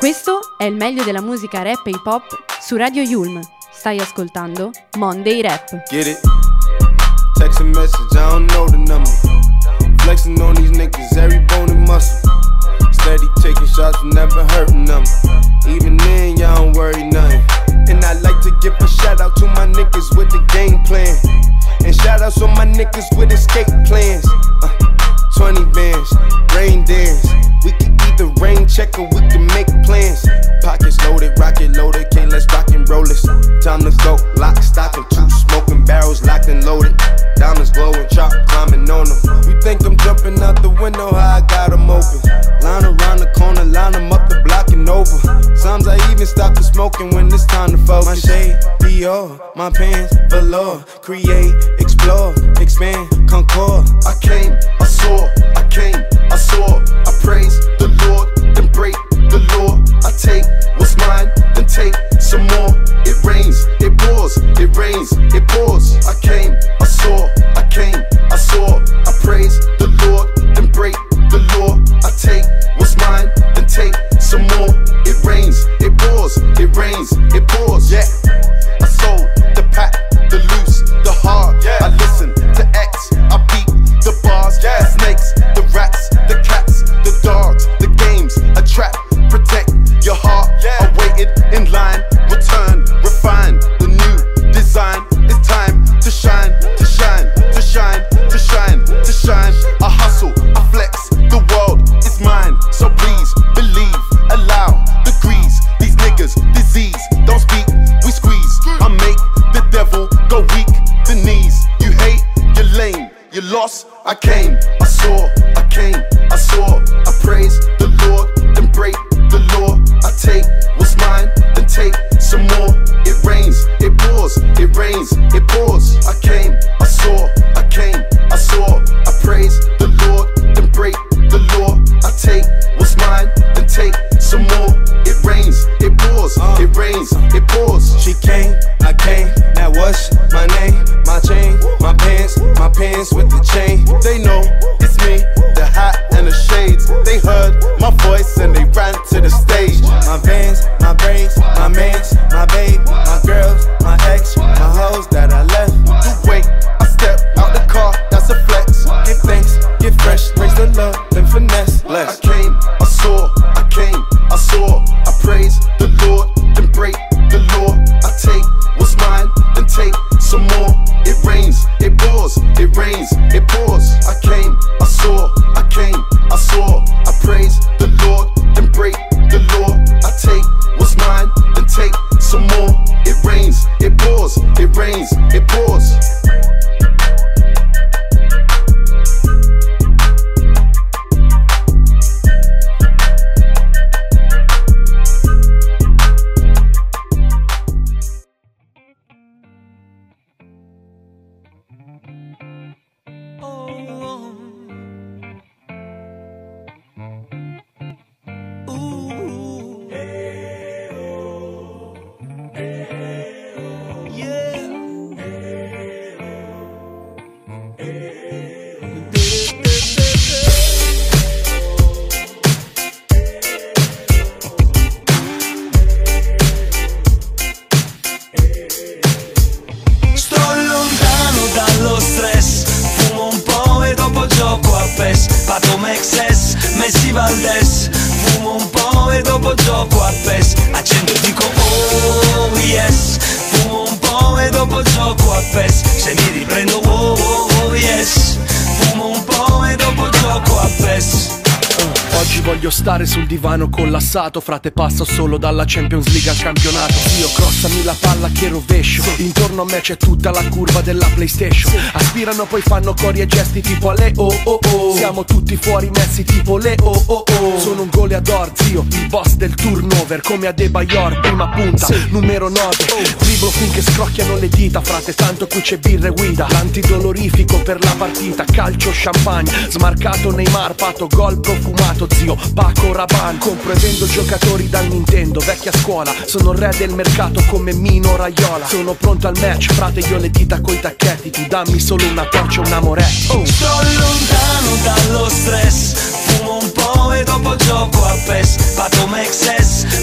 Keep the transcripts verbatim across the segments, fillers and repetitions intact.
Questo è il meglio della musica rap e hip hop su Radio Yulm. Stai ascoltando Monday Rap. Get it? Text a message, I don't know the number. Flexing on these niggas, every bone and muscle. Steady taking shots, never hurting them. Even then, y'all don't worry nothing. And I like to give a shout out to my niggas with the game plan. And shout outs on my niggas with escape plans. Uh, twenty bands, rain dance. We can either rain check or we can make plans. Pockets loaded, rocket loaded, okay, let's rock and roll this. Time to go, lock, stock, and two smoking barrels locked and loaded. Diamonds glowing, chop climbing on them. You think I'm jumping out the window, how I got them open. Line around the corner, line them up the block and over. Sometimes I even stop the smoking when it's time to focus. My shade, Dior, my pants, velour. Create, explore, expand, concord. I came, I saw, I came, I saw. I praise the Lord, then break the law. I take what's mine, then take some more. It rains, it pours, it rains, it pours. I came, I saw, I came, I saw. I praise the Lord, then break the law. I take what's mine, then take some more. It rains, it pours, it rains, it pours. Yeah, I sold the pack, the loose, the hard. Yeah. I listen to X, I beat the bars. Yeah. The snakes, the rats, the cats, the dogs, the games, a trap. Protect your heart. Yeah. I waited in line, return, refine the new design. It's time to shine, to shine, to shine, to shine, to shine. I hustle, I flex, the world is mine. So please believe, allow degrees. These niggas, disease, don't speak, we squeeze. I make the devil go weak, the knees. You hate, you're lame, you lost. I came, I saw, I came, I saw. I praise the Lord, then break the law. I take what's mine, then take some more. It rains, it pours, it rains, it pours. I came, I saw, I came, I saw. I praise the Lord, then break the law. I take what's mine, then take some more. It rains, it pours, it rains, it pours. She came, I came, now what's my name? My chain, my pants, my pants with the chain. They know it's me, the hat and the shades. They heard my voice and they ran to the stage. My vans, my braids, my mans, my babe, my girls, my ex, my hoes that I left. You wait, I step out the car, that's a flex. Give thanks, get fresh, raise the love, then finesse. Bless. I came, I saw, I came, I saw. I praise the Lord, then break the law. I take what's mine, then take some more. It rains, it pours, it rains, it pours. I came, I saw, I came, I saw. I praise the Lord, then break the law. I take what's mine, then take some more. It rains, it pours, it rains, it pours. Stare sul divano collassato, frate, passo solo dalla Champions League al campionato. Io crossami la palla che rovescio, intorno a me c'è tutta la curva della PlayStation. Aspirano poi fanno cori e gesti tipo le oh oh oh. Siamo tutti fuori messi tipo le oh oh oh. Sono un goleador, zio, il boss del turnover. Come Adebayor, prima punta, numero nove. Driblo finché scrocchiano le dita, frate, tanto qui c'è birra e guida. L'antidolorifico per la partita, calcio, champagne. Smarcato Neymar, pato, gol profumato, zio, Paco Rabanne. Compro e vendo giocatori dal Nintendo, vecchia scuola. Sono il re del mercato come Mino Raiola. Sono pronto al match, frate, io le dita coi tacchetti. Tu dammi solo una torcia, un amoretto. oh. Sto lontano dallo stress, fumo un po' e dopo gioco a PES. Pato Mexes,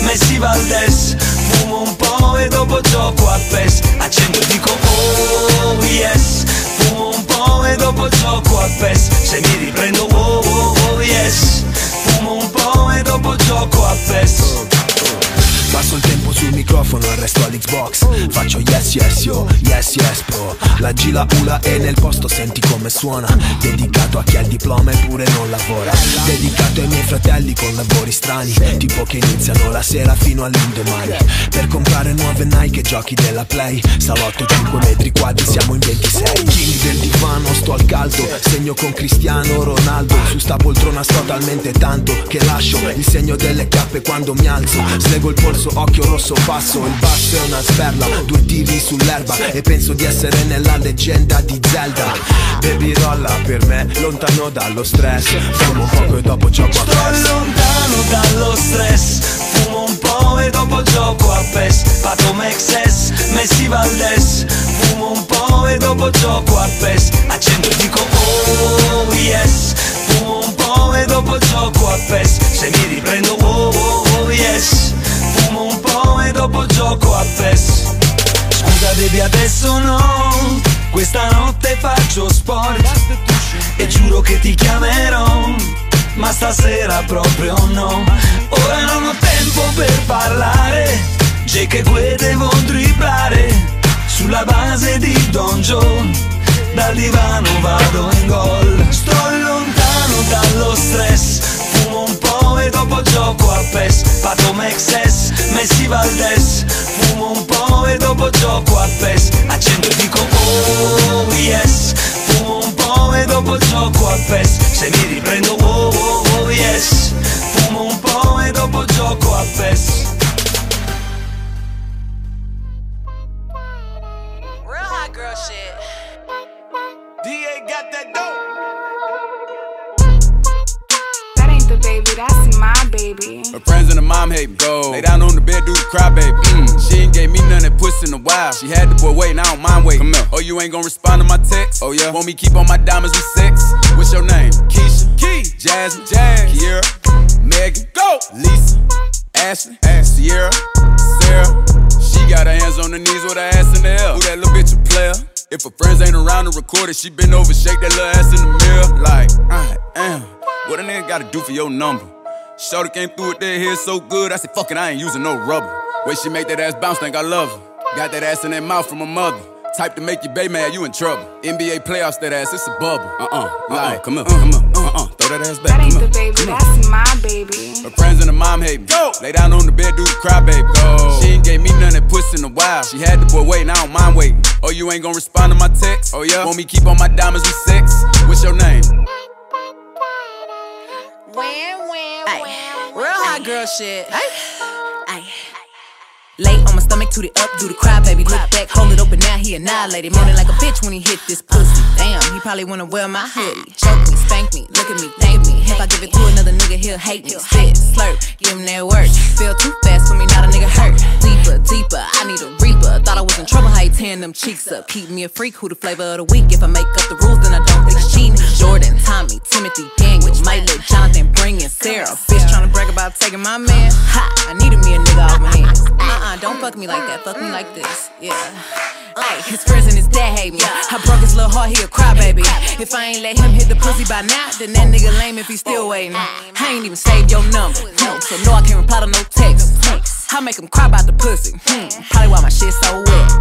Valdez. Fumo un po' e dopo gioco a P E S. Accendo e dico oh yes. Fumo un po' e dopo gioco a P E S. Se mi riprendo oh oh oh yes. Fumo un po' e dopo gioco a P E S. Passo il tempo sul microfono e resto all'Xbox. Faccio yes yes yo, yes yes bro. La G la U la E nel posto senti come suona. Dedicato a chi ha il diploma eppure non lavora. Dedicato ai miei fratelli con lavori strani, tipo che iniziano la sera fino all'indomani. Per comprare nuove Nike e giochi della Play. Salotto cinque metri quadri, siamo in ventisei. King del divano, sto al caldo. Segno con Cristiano Ronaldo. Su sta poltrona sto talmente tanto che lascio il segno delle cappe quando mi alzo. Slego il polso, occhio rosso passo. Il basso è una sperla, due tiri sull'erba. E penso di essere nella leggenda di Zelda. Baby rolla per me, lontano dallo stress. Fumo un poco e dopo gioco a P E S. Sto lontano dallo stress. Fumo un po' e dopo gioco a P E S. Pato Mexes, Messi Valdez. Fumo un po' e dopo gioco a P E S. Accendo e dico oh yes. Fumo un po' e dopo gioco a P E S. Se mi riprendo oh oh oh yes. Fumo un po' e dopo gioco a P E S. Scusa baby adesso no, questa notte faccio sport e giuro che ti chiamerò, ma stasera proprio no. Ora non ho tempo per parlare, Jake e Gue devo dribblare. Sulla base di Don Joe, dal divano vado in gol. Sto lontano dallo stress. Fumo un po' e dopo gioco a P E S. Pato Mexes, Messi Valdez. Fumo un po' e dopo gioco a P E S. Accendo e dico oh yes. Fumo un po' e dopo gioco a P E S. Se mi riprendo oh oh oh yes. Fumo un po' e dopo gioco a P E S. Real hot girl shit. D A got that dope. Baby, that's my baby. Her friends and her mom hate me. Go. Lay down on the bed, do the cry, baby. Mm. She ain't gave me none that puss in a while. She had the boy waiting, I don't mind waiting. Come here. Oh, you ain't gonna respond to my text? Oh, yeah. Want me keep on my diamonds with sex? What's your name? Keisha. Key. Jasmine. Jazz. Kiera. Megan. Go. Lisa. Ashley. Ash. Sierra. Sarah. She got her hands on her knees with her ass in the air. Who that little bitch a player? If her friends ain't around to record it, she been over, shake that little ass in the mirror. Like, I am. What a nigga gotta do for your number? Shorty came through with that hair so good, I said, fuck it, I ain't using no rubber. Way she make that ass bounce, think I love her. Got that ass in that mouth from her mother. Type to make your bae mad, you in trouble. N B A playoffs, that ass, it's a bubble. Uh-uh, like, uh-uh, come here, come here, uh-uh, throw that ass back. That ain't come the here, baby, that's my baby. Her friends and her mom hate me. Go. Lay down on the bed, do the cry, baby. Go. She ain't gave me none that puss in a while. She had the boy waiting, I don't mind waiting. Oh, you ain't gonna respond to my text? Oh, yeah? Want me keep on my diamonds with sex? What's your name? Wham, wham, wham. Real hot girl shit. Ay. Ay. Lay on my stomach, toot it up, do the cry, baby. Look back, hold it open, now he annihilated. Moaning like a bitch when he hit this pussy. Damn, he probably wanna wear my hoodie. Choke me, spank me, look at me, thank me. If I give it to another nigga, he'll hate me. Spit, slurp, give him that work. Feel too fast for me, not a nigga hurt. Deeper, deeper, I need a reaper. Thought I was in trouble, how he tearing them cheeks up. Keep me a freak, who the flavor of the week. If I make up the rules, then I don't think it's cheating. Jordan, Tommy, Timothy, Daniel, might let Jonathan bring in Sarah. Bitch tryna brag about taking my man. Ha, I needed me a nigga off my hands. Uh-uh, don't fuck me like that, fuck me like this, yeah. Ay, his friends and his dad hate me. I broke his little heart, he a cry, baby. If I ain't let him hit the pussy by now, then that nigga lame if he still waiting. I ain't even saved your number, no, so no, I can't reply to no text. I make him cry about the pussy, hmm, probably why my shit so wet.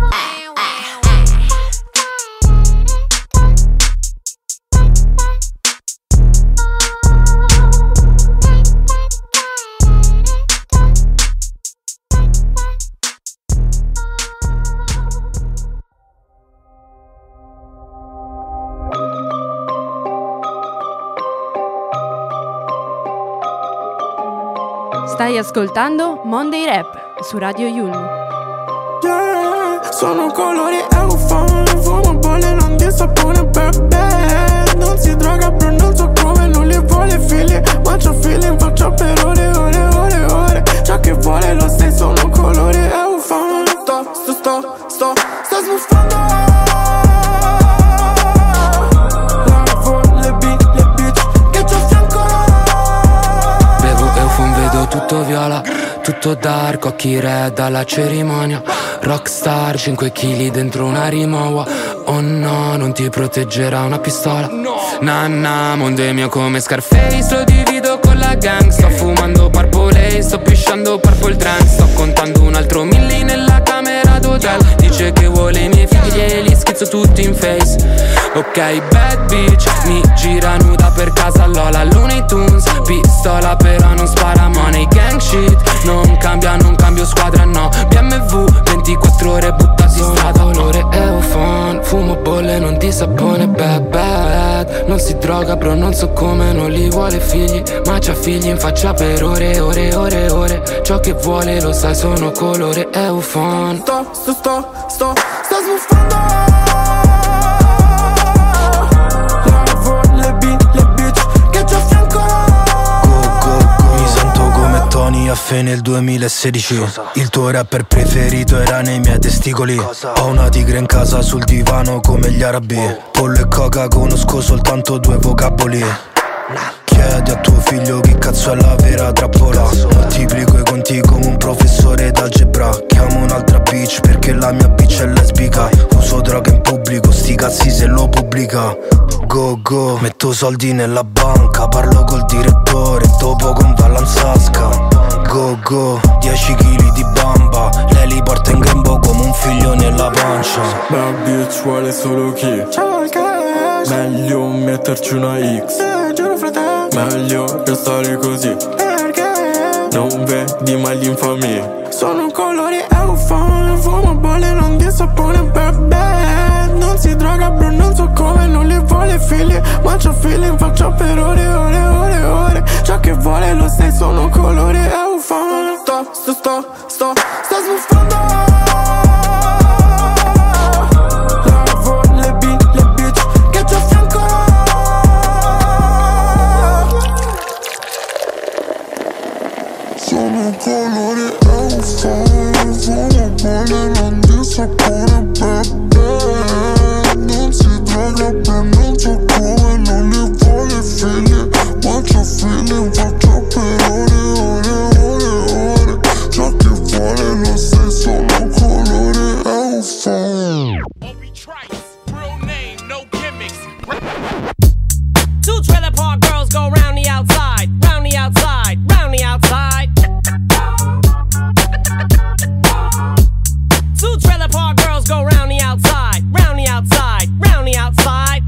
Stai ascoltando Monday Rap su Radio Yulm. Yeah, sono colori eufone, fumo bolle, non di sapone, bebè. Non si droga, però non so come, non li vuole figli. Ma c'ho feeling, faccio per ore, ore, ore, ore. Ciò che vuole lo sai, sono colori eufone. Sto, sto, sto, sto, sto sbuffando. Tutto viola, tutto tutto dark, occhi red alla cerimonia. Rockstar, cinque chili dentro una rimawa. Oh no, non ti proteggerà una pistola. Nanna, mondo è mio come Scarface. Lo divido con la gang. Sto fumando Purple, sto pisciando Purple Trance. Sto contando un altro milli nella camera d'hotel. Dice che vuole i miei figli e li schizzo tutti in face. Ok, bad bitch, mi gira nuda per casa Lola Looney Tunes, pistola però non spara money. Gang shit, non cambia, non cambio squadra no. B M W, ventiquattro ore buttati in strada. Colore Eufon, fumo bolle, non di sapone, bad bad. Non si droga bro, non so come, non li vuole figli, ma c'ha figli in faccia per ore, ore, ore, ore. Ciò che vuole lo sai, sono colore Eufon. Sto, sto, sto, sto, sto sbuffando. A fe nel duemilasedici il tuo rapper preferito era nei miei testicoli. Ho una tigre in casa sul divano come gli arabi. Pollo e coca conosco soltanto due vocaboli. Chiedi a tuo figlio che cazzo è la vera trappola. Moltiplico i conti come un professore d'algebra. Chiamo un'altra bitch perché la mia bitch è lesbica. Uso droga in pubblico, sti cazzi se lo pubblica. Go go, metto soldi nella banca. Parlo col direttore, dopo con Vallanzasca. Go go, dieci chili di bamba. Lei li porta in grembo come un figlio nella pancia. Bad bitch vuole solo chi? Ciao il cash. Meglio metterci una X. Eh, giuro fratello. Meglio restare così. Perché? Non vedi mai l'infamia. Sono colori Eufon, fumo bolle, non di sapone, bebè. Non si droga bro, non so come, non li vuole figli, ma c'ho feeling, faccio per ore, ore, ore, ore. Ciò che vuole lo sai, sono colori Eufon. Sto, sto, sto, sto, sto sbuffando. Lavo le B, le bitch che c'ho a fianco. Sono colori Eufon, fumo bolle, non di sapone, bebè. Non si droga per non so come, non li vuole figli, ma c'ho feeling, faccio per ore, ore, ore, ore. Ciò che vuole lo sai, sono colore Eufon. Two trailer park girls go round the outside, round the outside, round the outside. Two trailer park girls go round the outside, round the outside, round the outside.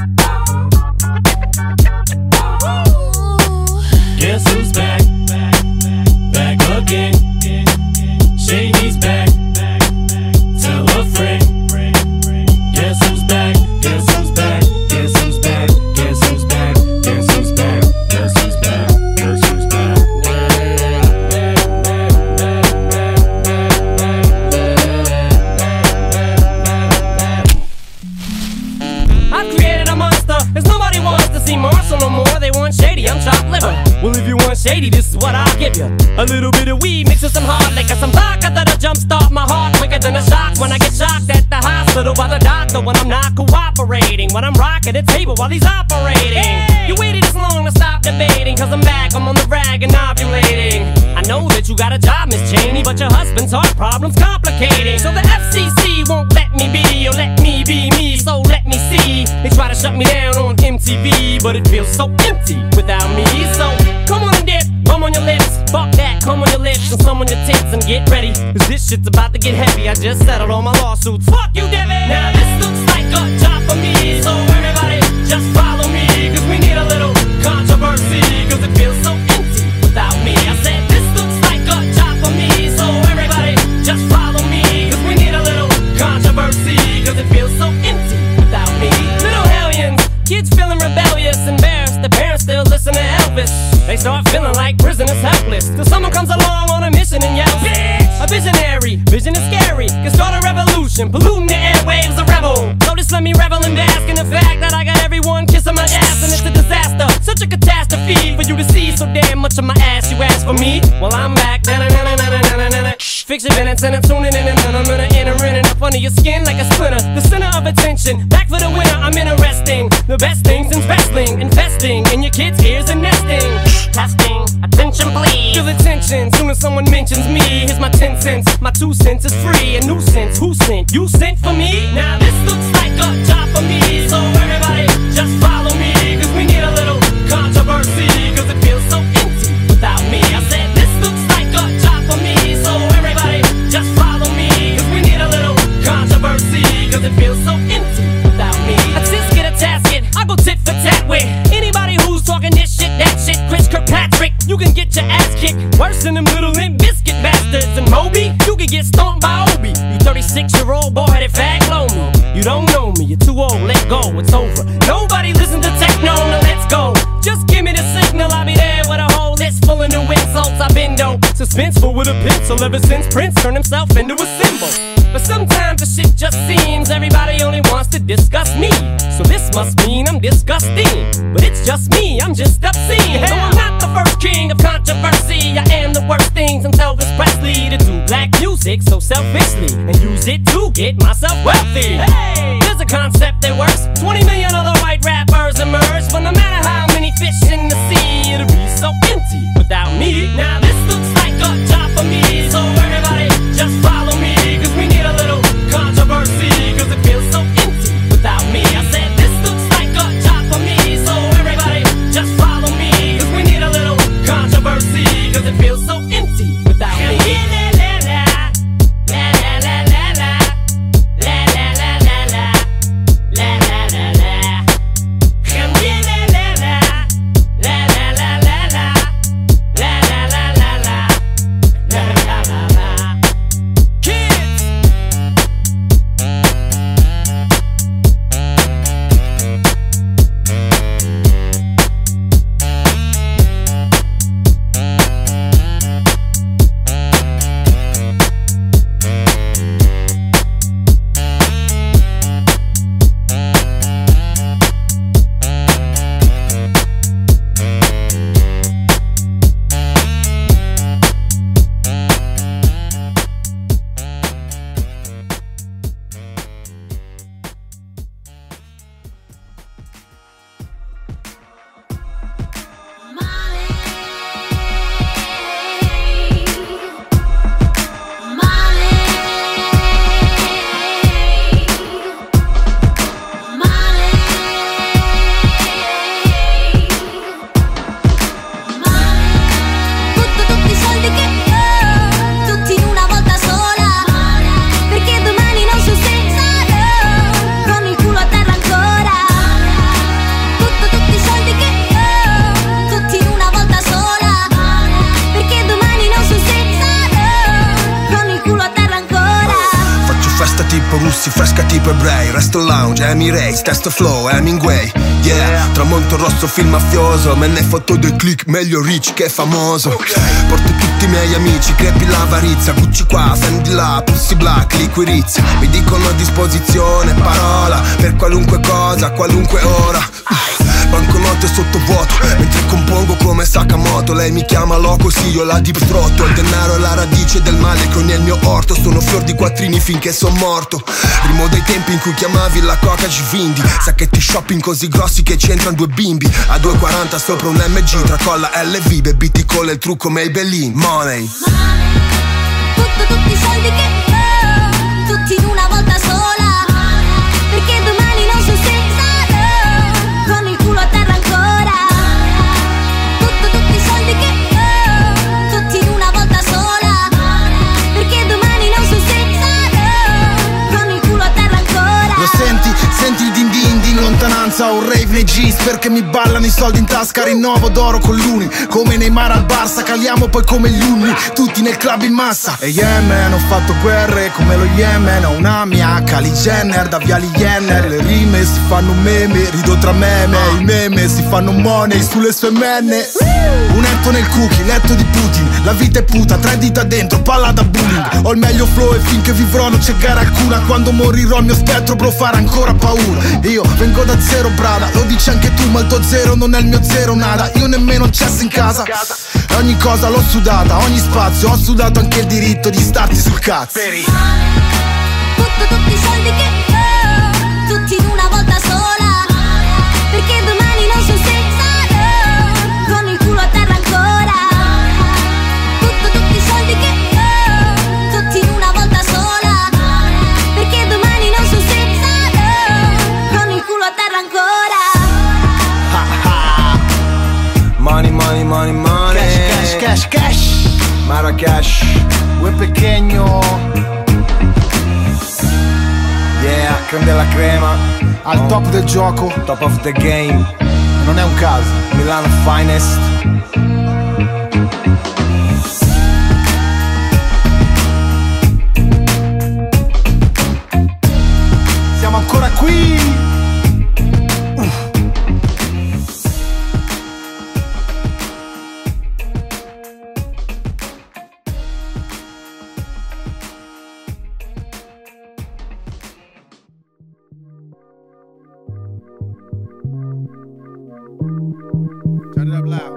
Guess who's back? Back again. Shady's back. Tell a friend. Guess who's back? Guess who's back? Guess who's back? Guess who's back? Guess who's back? Guess who's back? Guess who's back? I've created a monster, cause nobody wants to see Marshall no more. They want Shady, I'm chopped liver. Well, if you want Shady, this is what I'll give you. A little bit of weed mixed with some hard liquor, some vodka that'll jumpstart my heart quicker than a shock when I get shocked at the hospital by the doctor when I'm not cooperating, when I'm rocking the table while he's operating. Hey! You waited this long to stop debating, cause I'm back, I'm on the rag and ovulating. I know that you got a job, Miss Cheney, but your husband's heart problem's complicating. So the F C C won't let me be, or let me be me, so let me see. They try to shut me down on M T V, but it feels so empty without me. So come on and dip, bum on your lips, fuck that, come on your lips and some on your tits and get ready, cause this shit's about to get heavy. I just settled all my lawsuits, fuck you Devin. Now this looks like a job for me, so everybody just follow me, cause we need a little controversy, cause it feels so empty without me. I said this looks like a job for me, so everybody just follow me, cause we need a little controversy, cause it feels so empty without me. Little hellions, kids feeling rebellious, embarrassed, the parents still listen to Elvis. They start feeling like prisoners helpless, till someone comes along on a mission and yells, bitch! A visionary, vision is scary, can start a revolution, polluting the airwaves, a rebel. So just let me revel and bask in the fact that I got everyone kissing my ass, and it's a disaster, such a catastrophe for you to see so damn much of my ass. You ask for me? Well, I'm back. Fix your minutes and I'm tuning in, and then I'm gonna enter in and up under your skin like a splinter. The center of attention, back for the winner. I'm interesting. The best things in wrestling, investing in your kids' ears and nesting. Testing, attention please. Feel the tension attention. Soon as someone mentions me, here's my ten cents. My two cents is free, a nuisance. Who sent? You sent for me? Now this looks like a job for me. So everybody just follow me, cause we need a little controversy, cause it feels so empty without me. I said this looks like a job for me. So everybody just follow me, cause we need a little controversy, cause it feels so empty without me. I just get a tasket, I go tit for tat with anybody who's talking this shit, that shit. Chris Kirkpatrick, you can get your ass kicked worse than them little Limp Bizkit bastards. And Moby, you can get stomped by Obi. You thirty-six year old boy headed fag blow me. You don't know me, you're too old, let go, it's over. Nobody listen to techno, now let's go. Just give me the signal, I'll be there with a whole list full of new insults. I've been though suspenseful with a pencil ever since Prince turned himself into a symbol. But sometimes the shit just seems everybody only wants to discuss me. So this must mean I'm disgusting. But it's just me, I'm just obscene. No, I'm not the first king of controversy. I am the worst thing since Elvis Presley to do black music so selfishly and use it to get myself wealthy. Hey, there's a concept that works. twenty million other white rappers emerge, but no matter how many fish in the sea, it'll be so empty without me. Now this looks like a job for me, so everybody just follow me, cause we need a little controversy, cause it feels so empty without me. I said this looks like a job for me, so everybody just follow me, cause we need a little controversy, cause it feels so empty without me. Russi, fresca tipo ebrei, resto lounge, Emirates, testo flow, Hemingway. Yeah, tramonto rosso, film mafioso, me ne fotto dei click, meglio rich che famoso. Porto tutti i miei amici, crepi l'avarizia, Gucci qua, Fendi là, Pussy Black, liquirizia. Mi dicono a disposizione, parola, per qualunque cosa, qualunque ora. Banconote sottovuoto, mentre compongo come Sakamoto. Lei mi chiama loco, sì, io la deep throttle. Il denaro è la radice del male che ho nel mio orto. Sono fior di quattrini finché son morto. Rimo dai tempi in cui chiamavi la coca Givindi. Sacchetti shopping così grossi che c'entrano due bimbi. A due e quaranta sopra un M G, tra colla L V, baby ti colla il trucco Maybelline. Money, tutto, tutti i soldi che ho, tutti in una volta sola, perché domani non so se sarò con il culo a terra ancora. Tutto, tutti i soldi che ho, tutti in una volta sola, perché domani non so se sarò con il culo a terra ancora. Lo senti? Senti il din din di in lontananza, un rave nei jeans perché mi ballano i soldi in tasca. Rinnovo d'oro con l'uni, come Neymar al Barça, caliamo poi come gli unni, tutti nel club in massa. E Yemen, ho fatto guerre come lo Yemen, ho una mia Kylie Jenner, da Viali Jenner. Le rime si fanno meme, rido tra meme, i meme si fanno money sulle sue menne. Un etto nel cookie, letto di Putin, la vita è puta, tre dita dentro, palla da bullying. Ho il meglio flow e finché vivrò non c'è gara alcuna. Quando morirò il mio spettro bro farà ancora paura. Io vengo da zero brada, lo dici anche tu, ma il tuo zero non è il mio zero nada. Io nemmeno cesso in casa, ogni cosa l'ho sudata, ogni spazio, ho sudato anche il diritto di starti sul cazzo. Tutto, tutti i soldi che ho, tutti in una volta sola, perché domani non so se sarò con il culo a terra ancora. Tutto, cash, cash. Marrakesh, Muy pequeño. yeah, creme della crema, Al top del gioco. top of the game, Non è un caso. Milano finest. Siamo ancora qui. Turn it up loud.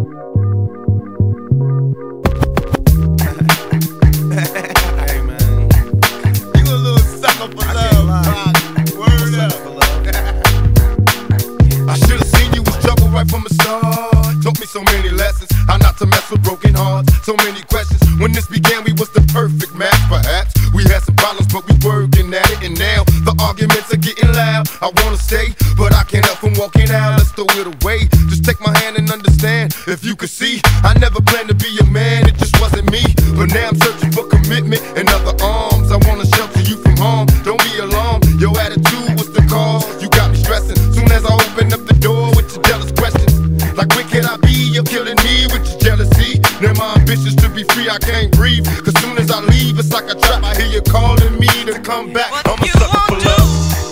Hey man, you a little sucker for love, dog. Word up. I should have seen you was trouble right from the start. Taught me so many lessons, how not to mess with broken hearts. So many questions. When this began, we was the perfect match. Perhaps we had some problems, but we working at it. And now the arguments are getting loud. I wanna stay, but I can't help from walking out. Let's throw it away. Just take my hand and understand. If you could see, I never planned to be a man. It just wasn't me. But now I'm searching for commitment and other arms. I wanna shelter you from harm. Don't be alarmed. Your attitude was the cause. You got me stressing. Soon as I open up the door with your jealous questions, like where can I be? You're killing me with your jealousy. Now my ambitions to be free, I can't breathe. Cause soon as I leave, it's like a trap. I hear you calling me to come back. I'm a sucker for love.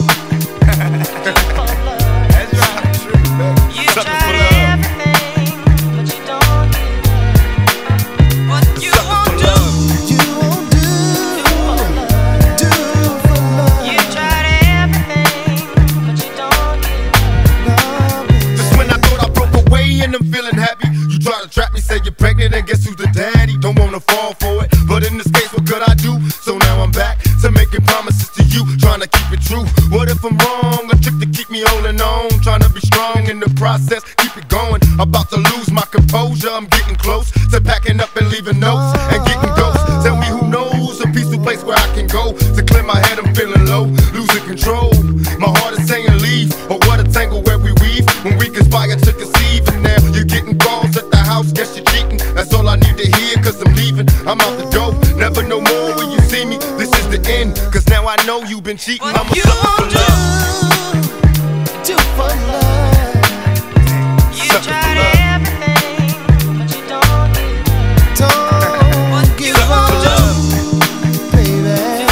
That's right. Sucker for love. And I'm feeling happy. You try to trap me, say you're pregnant, and guess who's the daddy? Don't wanna fall for it, but in this case, what could I do? So now I'm back to making promises to you, trying to keep it true. What if I'm wrong? A trick to keep me holding on, trying to be strong in the process, keep it going. About to lose my composure, I'm getting close to packing up and leaving notes and getting ghosts. Tell me who knows a peaceful place where I can go to clear my head. I'm feeling low, losing control. My heart is saying leave, or what a tangle where we weave when we conspire to conceive. And now you're getting calls at the house, guess you're cheating. That's all I need to hear, cause I'm leaving. I'm out the door, never no more when you see me. This is the end, cause now I know you've been cheating. I'm a sucker for love. Do for love. You tried everything, but you don't give. Don't give up, baby.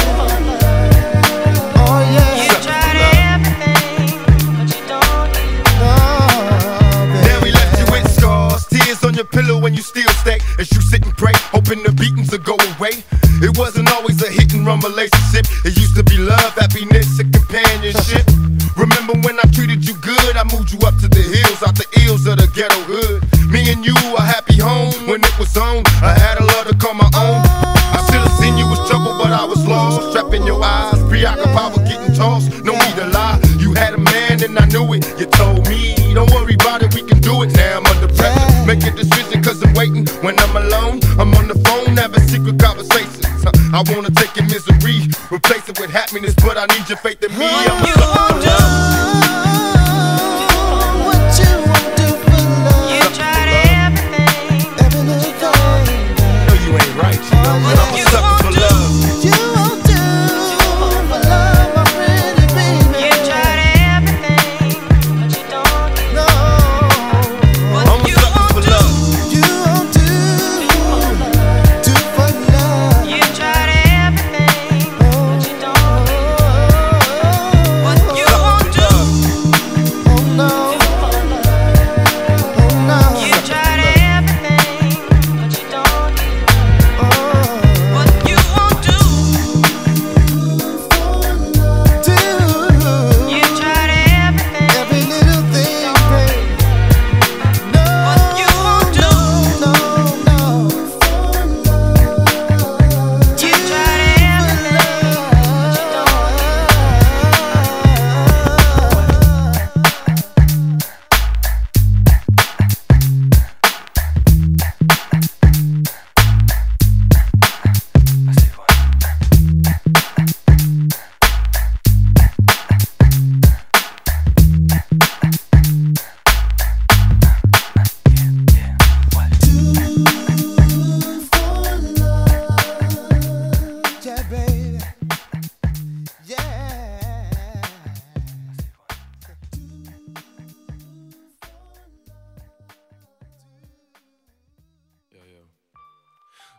Oh yeah. You tried everything, but you don't give. Now we left you with scars, tears on your pillow when you still stay. As you sit and pray, hoping the beatings will go away. It wasn't always a hit and run relationship. It used to be love, happiness, and companionship. Remember when I treated you good? I moved you up to the hills, out the ills of the ghetto hood. Me and you, a happy home when it was on. I had a love to call my own. I should've seen you was trouble, but I was lost. Trapping your eyes, preoccupied with getting tossed. No need to lie, you had a man and I knew it. You told me, don't worry about it, we can do it. Now I'm under pressure, make a decision cause I'm waiting. When I'm alone, I'm on the phone, having secret conversations. I wanna take your misery, replace it with happiness, but I need your faith in me. I'm a sucker for love. What you won't do for love. You tried everything, every little thing. No, you ain't right, you know, but I'm a sucker for love. You won't do for love, my pretty baby. You tried everything, but you don't give. No. I'm a sucker for love. You won't do, do for love. You tried everything, but you don't give.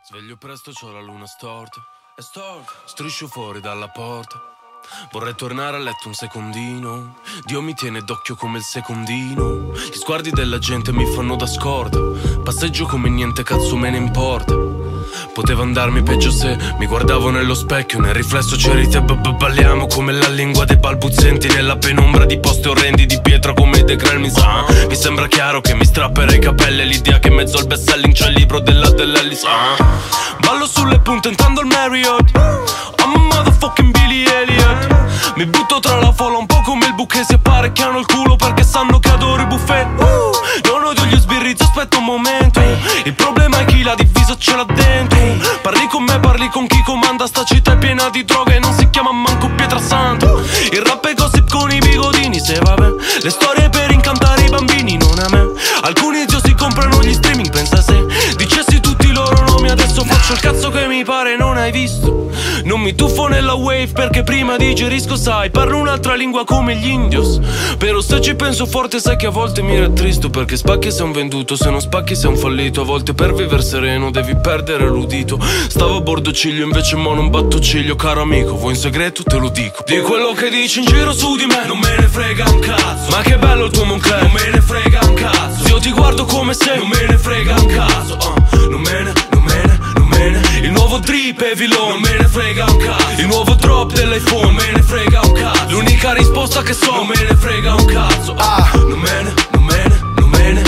Sveglio presto, c'ho la luna storta. È storta. Striscio fuori dalla porta. Vorrei tornare a letto un secondino. Dio mi tiene d'occhio come il secondino. Gli sguardi della gente mi fanno da scorta. Passeggio come niente, cazzo me ne importa. Poteva andarmi peggio se mi guardavo nello specchio. Nel riflesso c'eri te, balliamo come la lingua dei balbuzienti. Nella penombra di posti orrendi di pietra come i decrel mi sa. Mi sembra chiaro che mi strapperei i capelli. L'idea che in mezzo al best selling c'è il libro della dell'Ellis. ah. Ballo sulle punte intendo il Marriott. I'm a motherfucking Billy Elliot. Mi butto tra la folla un po' come il buche. Si apparecchiano il culo perché sanno che adoro i buffet. uh, Non odio gli sbirrizzi, aspetta un momento. Il problema è chi l'ha diviso ce l'ha dentro. Parli con me, parli con chi comanda. Sta città è piena di droga e non si chiama manco Pietrasanto. Il rap è gossip con i bigodini. Se vabbè, le storie per incantare i bambini, non a me. Alcuni zio si comprano gli streaming. Pensa se dicessi tutti i loro nomi. Adesso faccio il cazzo che mi pare, non hai visto. Non mi tuffo nella wave perché prima digerisco, sai. Parlo un'altra lingua come gli indios. Però se ci penso forte sai che a volte mi rattristo. Perché spacchi sei un venduto, se non spacchi sei un fallito. A volte per vivere sereno devi perdere l'udito. Stavo a bordo ciglio invece mo non batto ciglio. Caro amico, vuoi in segreto te lo dico. Di quello che dici in giro su di me non me ne frega un cazzo. Ma che bello il tuo Moncler, non me ne frega un cazzo. Io ti guardo come se non me ne frega un cazzo. uh, Non me ne, non me ne, non me ne. Il nuovo drip è Villon, non me ne frega un cazzo. Il nuovo drop dell'iPhone, non me ne frega un cazzo. L'unica risposta che so, non me ne frega un cazzo. uh, Ah. Non me ne, non me ne, non me ne.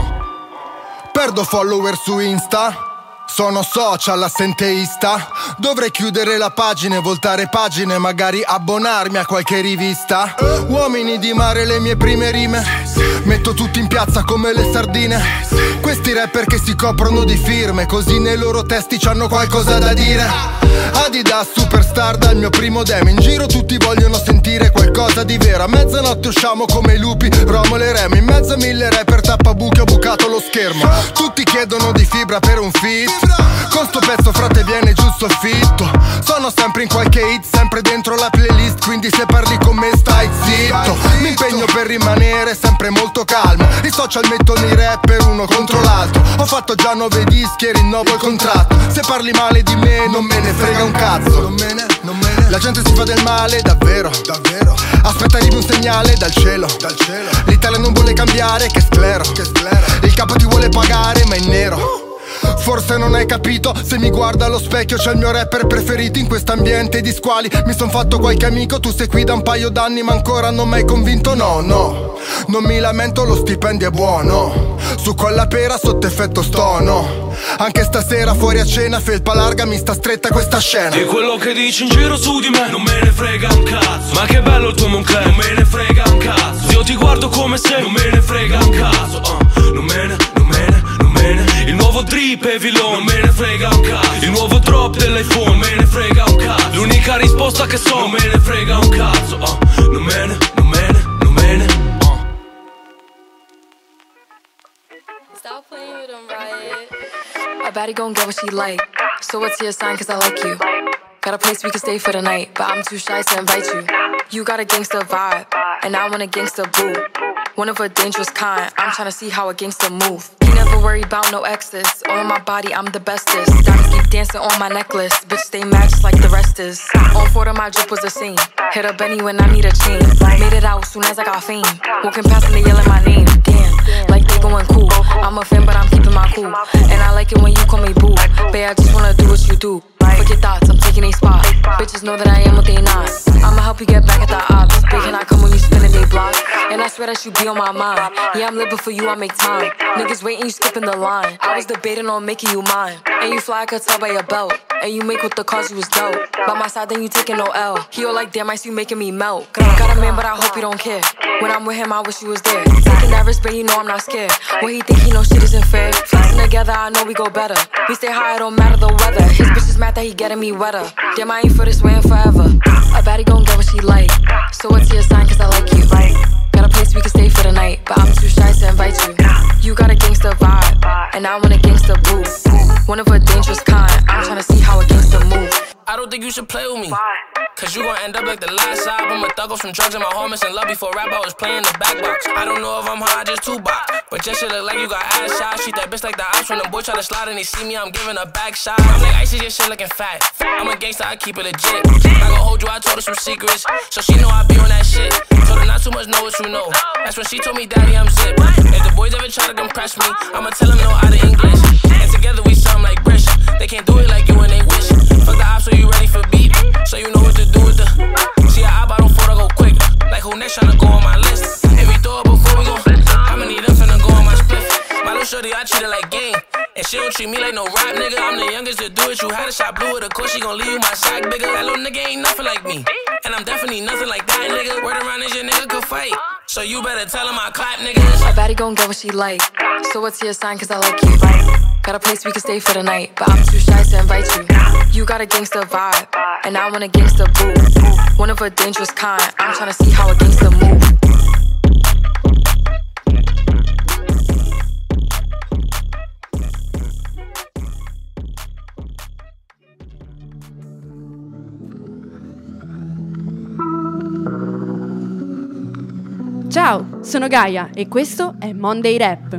Perdo follower su Insta. Sono social assenteista. Dovrei chiudere la pagina e voltare pagine. Magari abbonarmi a qualche rivista. Uomini di mare, le mie prime rime. Metto tutti in piazza come le sardine. Questi rapper che si coprono di firme, così nei loro testi c'hanno qualcosa da dire. Adidas superstar dal mio primo demo. In giro tutti vogliono sentire qualcosa di vero. A mezzanotte usciamo come i lupi, Romolo e Remo. In mezzo a mille rapper tappabuchi ho bucato lo schermo. Tutti chiedono di fibra per un feat. Con sto pezzo frate viene giusto il fitto. Sono sempre in qualche hit, sempre dentro la playlist. Quindi se parli con me stai zitto. Mi impegno per rimanere sempre molto calmo. I social mettono i rapper uno contro l'altro. Ho fatto già nove dischi e rinnovo il contratto. Se parli male di me non me ne frega un cazzo. Non me ne, non me ne. La gente si fa del male, davvero, davvero. Aspetta arrivi un segnale dal cielo, dal cielo. L'Italia non vuole cambiare, che sclero, che sclero. Il capo ti vuole pagare ma è in nero. Forse non hai capito, se mi guarda allo specchio c'è il mio rapper preferito. In quest'ambiente di squali mi son fatto qualche amico. Tu sei qui da un paio d'anni ma ancora non m'hai convinto. No, no, non mi lamento, lo stipendio è buono. Su quella pera sotto effetto stono. Anche stasera fuori a cena, felpa larga, mi sta stretta questa scena. Di quello che dici in giro su di me non me ne frega un cazzo. Ma che bello il tuo Moncler, non me ne frega un cazzo. Io ti guardo come se non me ne frega un cazzo. uh, Non me ne, non me ne, non me ne. Il nuovo drip è Villon, non me ne frega un cazzo. Il nuovo drop dell'iPhone, non me ne frega un cazzo. L'unica risposta che so, non me ne frega un cazzo. uh, Non me ne, non me ne, non me ne. Stop playing with them, Riot. A baddie gon' get what she like. So what's your sign, cause I like you. Got a place we can stay for the night, but I'm too shy to invite you. You got a gangster vibe, and I want a gangster boo. One of a dangerous kind, I'm tryna see how a gangster move. You never worry about no exes, all on my body I'm the bestest. Diamonds keep dancing on my necklace, bitch stay mad just like the rest is. On four of my drip was a scene, hit a Benny when I need a chain. Made it out soon as I got fame, walking past and they yelling my name. Damn, like they going cool. I'm a fan but I'm keeping my cool, and I like it when you call me boo. Babe, I just wanna do what you do. Fuck your thoughts, I'm taking a spot. Bitches know that I am what they not. I'ma help you get back at the odds. Big can I come when you spinning they block? And I swear that you be on my mind. Yeah, I'm living for you, I make time. Niggas waiting, you skipping the line. I was debating on making you mine. And you fly, I could tell by your belt. And you make with the cause you was dope. By my side, then you taking no L. He all like, damn, I see you making me melt. Got a man, but I hope you don't care. When I'm with him, I wish you was there. Taking that risk, but you know I'm not scared. When he think he know shit isn't fair. Flexing together, I know we go better. We stay high, it don't matter the weather. His bitch is mad that he getting me wetter. Damn, I ain't for this way and forever. A baddie gon' get what she like. So what's your sign, cause I like you. Got a place we can stay for the night, but I'm too shy to invite you. You got a gangster vibe, and I want a gangster boo. One of a dangerous kind, I'm tryna see how a gangster move. I don't think you should play with me. Cause you gon' end up like the last album. A thug off from drugs and my homies in love. Before rap I was playing the back box. I don't know if I'm high, just two box. But just shit look like you got ass shots. Treat that bitch like the ops when them boys try to slide and they see me, I'm giving a back shot. I'm like icy, your shit looking fat. I'm a gangster, I keep it legit. I gon' hold you, I told her some secrets, so she know I be on that shit. Told her not too much, know what you know. That's when she told me, daddy, I'm zip. If the boys ever try to compress me, I'ma tell them no out of English. And together we something like British. They can't do it like you and they wish. Fuck the ops, so you ready for beat? So you know what to do with the. See, I bought on four to go quick. Like who next tryna go on my list? If we throw it before we go, how many of them finna go on my split? My little shorty, I treat her like game. And she don't treat me like no rap nigga. I'm the youngest to do it. You had a shot blue with a course, she gon' leave you my sack bigger. That little nigga ain't nothing like me. And I'm definitely nothing like that nigga. Word around is your nigga could fight. So you better tell him I clap niggas. A baddie gon' get what she like. So what's your sign, cause I like you. Got a place we can stay for the night, but I'm too shy to invite you. You got a gangster vibe, and I want a gangster boo. One of a dangerous kind, I'm tryna see how a gangster move. Ciao, sono Gaia e questo è Monday Rap.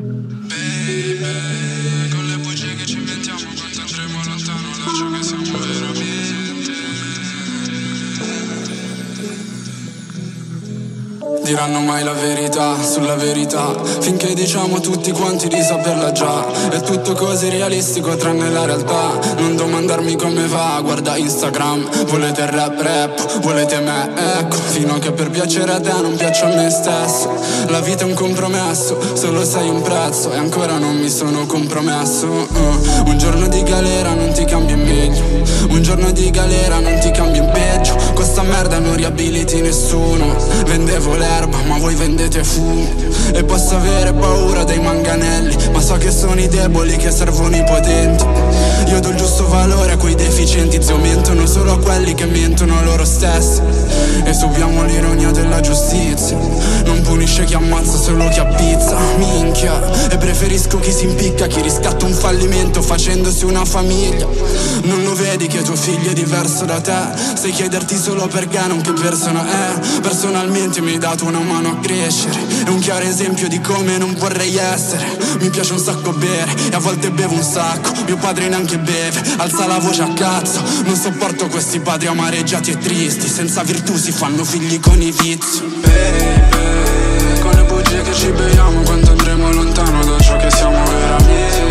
Diranno mai la verità sulla verità, finché diciamo tutti quanti di saperla già. È tutto così realistico tranne la realtà. Non domandarmi come va, guarda Instagram. Volete il rap rap, volete me, ecco. Fino a che per piacere a te non piaccio a me stesso. La vita è un compromesso, solo sei un prezzo. E ancora non mi sono compromesso. uh. Un giorno di galera non ti cambia in meglio, un giorno di galera non ti cambia in peggio. Con sta merda non riabiliti nessuno. Vendevo l'erba ma voi vendete fumo. E posso avere paura dei manganelli, ma so che sono i deboli che servono i potenti. Io do il giusto valore a quei deficienti, zio, mentono solo a quelli che mentono loro stessi. E subiamo l'ironia della giustizia, non punisce chi ammazza, solo chi appizza. Minchia, e preferisco chi si impicca, chi riscatta un fallimento facendosi una famiglia. Non lo vedi che tuo figlio è diverso da te? Sai chiederti solo perché, non che persona è. Personalmente mi hai dato una mano a crescere, è un chiaro esempio di come non vorrei essere. Mi piace un sacco bere e a volte bevo un sacco. Mio padre neanche beve, alza la voce a cazzo. Non sopporto questi padri amareggiati e tristi, senza virtù si fanno figli con i vizi. Baby, con le bugie che ci beviamo, quando andremo lontano da ciò che siamo veramente.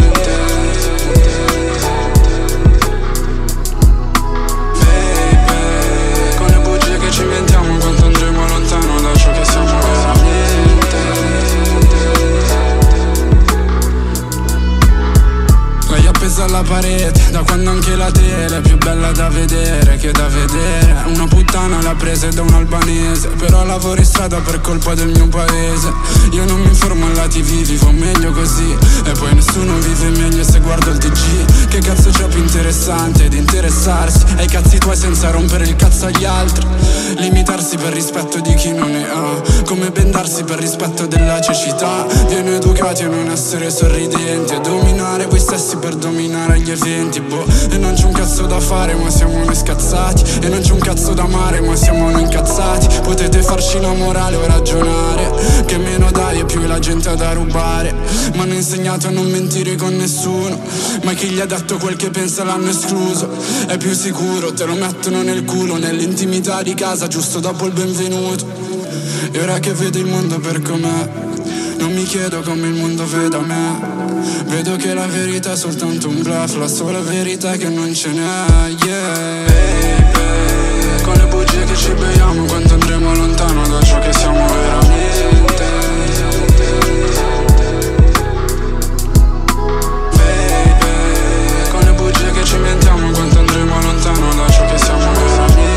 Baby, con le bugie che ci inventiamo, quando andremo lontano da ciò che siamo veramente. Lei appesa alla parete, da quando anche la tele è più bella da vedere che da vedere. Una puttana l'ha presa da un albanese, però lavoro in strada per colpa del mio paese. Io non mi informo alla tivù, vivo meglio così. E poi nessuno vive meglio se guardo il T G. Che cazzo c'è più interessante di interessarsi ai cazzi tuoi senza rompere il cazzo agli altri? Limitarsi per rispetto di chi non ne ha, come bendarsi per rispetto della cecità. Viene educati a non essere sorridenti, a dominare voi stessi per dominare gli eventi, boh. E non c'è un cazzo da fare ma siamo noi scazzati, e non c'è un cazzo da amare ma siamo noi incazzati. Potete farci la morale o ragionare, che meno dai e più la gente ha da rubare. Mi hanno insegnato a non mentire con nessuno, ma chi gli ha detto quel che pensa l'hanno escluso. È più sicuro, te lo mettono nel culo, nell'intimità di casa giusto dopo il benvenuto. E ora che vedo il mondo per com'è, non mi chiedo come il mondo veda me. Vedo che la verità è soltanto un bluff, la sola verità è che non ce n'è, yeah. Baby, con le bugie che ci beviamo, quando andremo lontano da ciò che siamo veramente. Baby, con le bugie che ci inventiamo, quando andremo lontano da ciò che siamo veramente.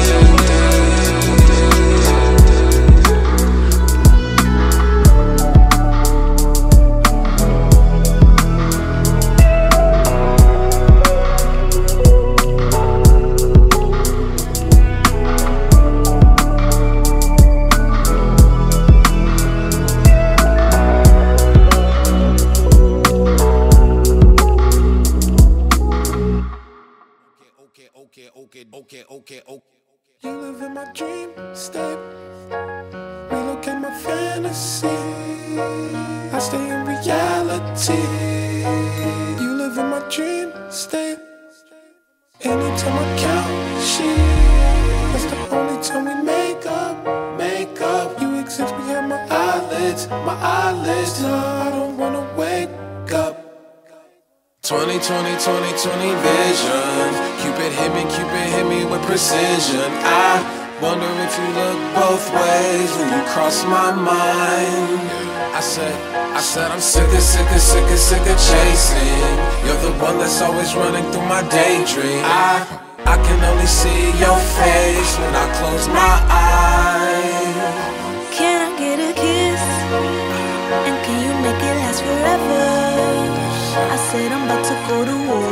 reality. You live in my dream state. Anytime I count shit, that's the only time we make up, make up. You exist behind my eyelids, my eyelids. No, I don't wanna wake up. twenty twenty, twenty twenty vision. Cupid hit me, Cupid hit me with precision. I wonder if you look both ways when you cross my mind. I said, I said I'm sick of, sick of, sick of, sick of chasing. You're the one that's always running through my daydream. I, I can only see your face when I close my eyes. Can I get a kiss? And can you make it last forever? I said I'm about to go to war,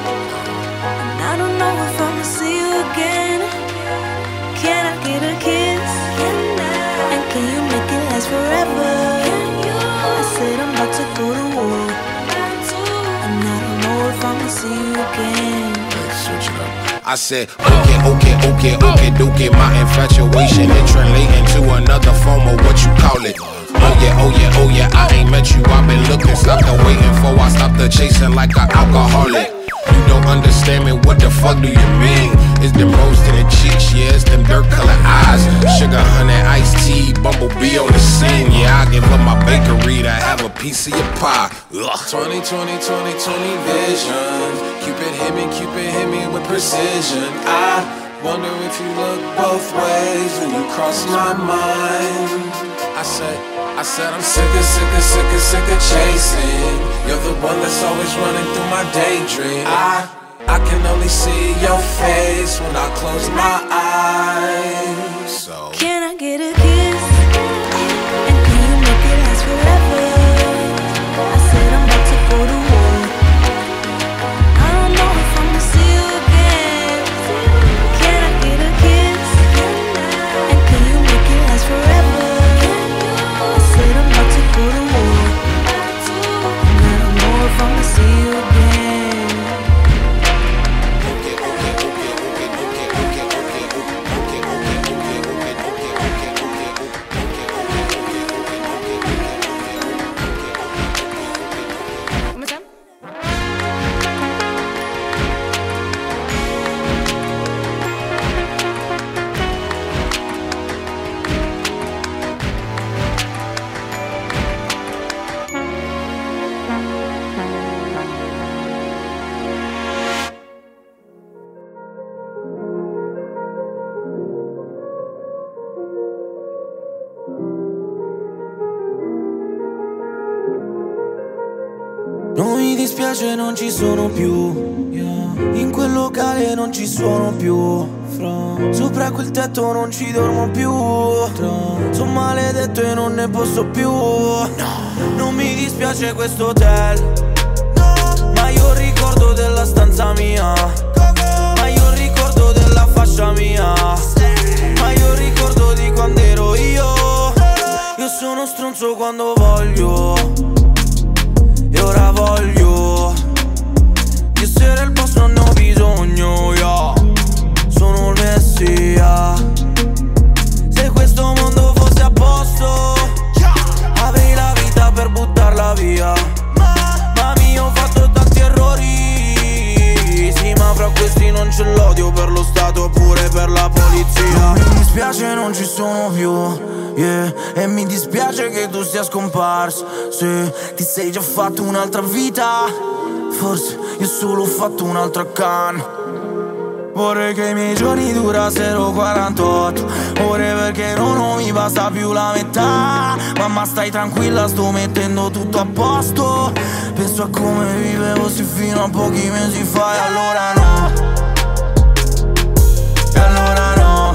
and I don't know if I'ma see you again. Can I get a kiss? And can you make it last forever? I said I'm about to go to war, and I don't know if I'ma see you again. Let's switch it up. I said, okay, okay, okay, okay, okay. My infatuation it translating to another form of what you call it. Oh yeah, oh yeah, oh yeah, I ain't met you, I've been looking, stopped the waiting for, I stopped the chasing like an alcoholic. You don't understand me, what the fuck do you mean? It's them rose to the cheeks, yeah, it's them dirt colored eyes. Sugar, honey, iced tea, bumblebee on the scene. Yeah, I give up my bakery to have a piece of your pie. Ugh. twenty twenty, twenty twenty vision. Cupid hit me, Cupid hit me with precision. I wonder if you look both ways when you cross my mind. I said, I said I'm sick of, sick of, sick of, sick of chasing. You're the one that's always running through my daydream. I, I can only see your face when I close my eyes. So can I get a kiss? And can you make it last forever? I said I'm about to go to war. I don't know if I'ma see you again. Can I get a kiss? And can you make it last forever? Go to war, and I don't know if I'ma see you again. Okay, okay, okay, okay, okay, okay, okay, okay, okay, okay, Come c'è? Non mi dispiace, non ci sono più, yeah. In quel locale non ci sono più, fra. Sopra quel tetto non ci dormo più, tra. Sono maledetto e non ne posso più, no. Non mi dispiace questo hotel, no. Ma io ricordo della stanza mia, ma io ricordo della fascia mia, ma io ricordo di quando ero io. Io sono stronzo quando voglio, ora voglio di essere il boss, non ne ho bisogno, yeah. Sono il messia. Se questo mondo fosse a posto, avrei la vita per buttarla via. Mami, ho fatto tanti errori, sì, ma fra questi non c'è l'odio per lo Stato oppure per la polizia. Non mi dispiace, non ci sono più, yeah. E mi dispiace che tu sia scomparso. Se ti sei già fatto un'altra vita, forse io solo ho fatto un'altra canna. Vorrei che i miei giorni durassero quarantotto ore, perché non, non mi basta più la metà. Mamma, stai tranquilla, sto mettendo tutto a posto. Penso a come vivevo sì fino a pochi mesi fa, e allora no, e allora no,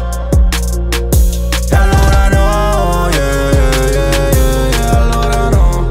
e allora no, yeah, yeah, yeah, yeah, yeah, allora no.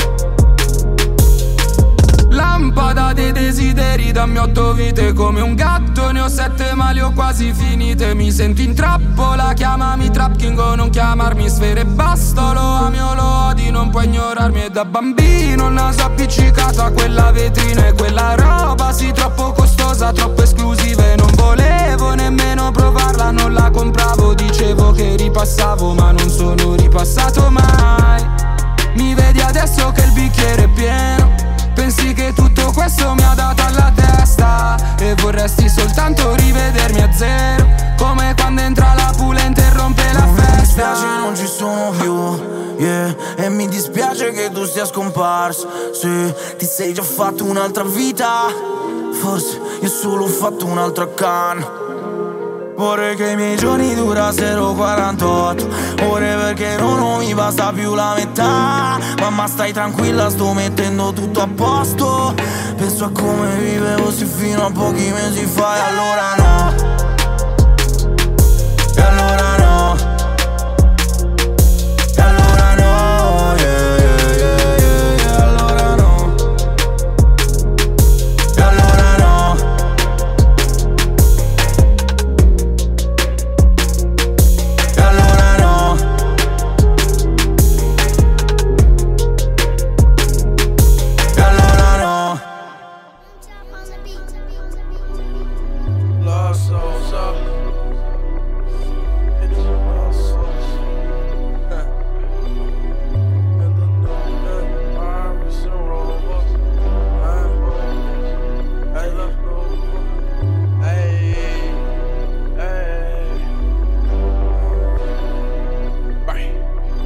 Lampada dei desideri, dammi otto vite come un gatto, ne ho sette ma le ho quasi finite. Mi sento in trappola, chiamami Trap King o non chiamarmi Sfere e basta. Lo ami o lo odi, non puoi ignorarmi. E da bambino il naso appiccicato a quella vetrina, e quella roba sì troppo costosa, troppo esclusiva, e non volevo nemmeno provarla, non la compravo. Dicevo che ripassavo ma non sono ripassato mai. Mi vedi adesso che il bicchiere è pieno. Pensi che tutto questo mi ha dato alla testa e vorresti soltanto rivedermi a zero, come quando entra la pulente e rompe la festa. Mi dispiace non ci sono più, yeah. E mi dispiace che tu sia scomparso. Se ti sei già fatto un'altra vita, forse io solo ho fatto un'altra canna. Vorrei che i miei giorni durassero quarantotto ore, perché non mi basta più la metà. Mamma stai tranquilla, sto mettendo tutto a posto. Penso a come vivevo sì fino a pochi mesi fa. E allora no, e allora no, e allora no, yeah, yeah, yeah, yeah, yeah. Allora no, e allora no, e allora no, e allora no. Lost souls up. It's lost souls. And the new Paris and Rovers. Hey, let's go. Hey, hey. Bye.